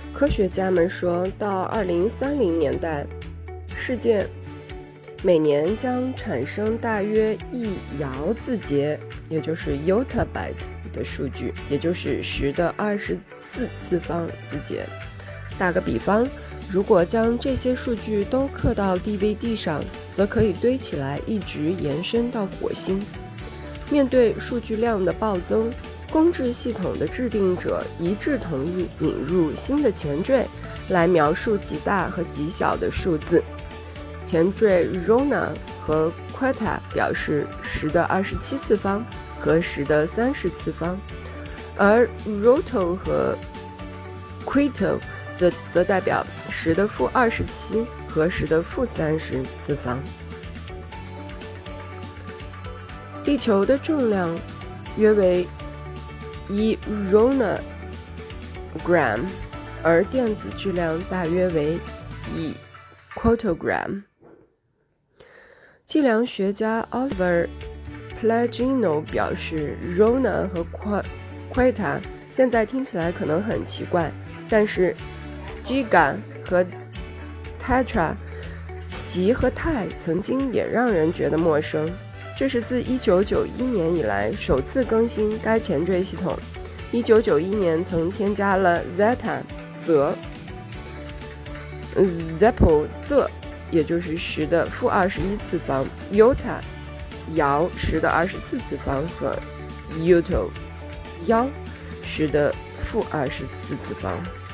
科学家们说，到2030年代，世界每年将产生大约1摇字节，也就是 yottabyte 的数据，也就是10的24次方字节。打个比方，如果将这些数据都刻到 DVD 上，则可以堆起来，一直延伸到火星。面对数据量的暴增，公制系统的制定者一致同意引入新的前缀来描述极大和极小的数字。前缀 Rona 和 Quetta 表示10的27次方和10的30次方，而 Roto 和 Quito 则代表10的-27和10的-30次方。地球的重量约为1 Ronagram， 而电子质量大约为1 Quantogram。计量学家 Oliver Pellegrino 表示 Rona 和 Quetta 现在听起来可能很奇怪，但是 Giga 和 Tetra 吉和泰曾经也让人觉得陌生。这是自1991年以来首次更新该前缀系统。1991年曾添加了 Zeta 则 Zeppo 仄，也就是10的-21次方， Iota 摇10的24次方和 Uto 幺10的-24次方。